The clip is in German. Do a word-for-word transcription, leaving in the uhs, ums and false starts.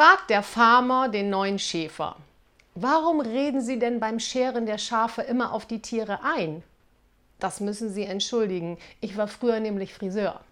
fragt der Farmer den neuen Schäfer: Warum reden Sie denn beim Scheren der Schafe immer auf die Tiere ein? Das müssen Sie entschuldigen, ich war früher nämlich Friseur.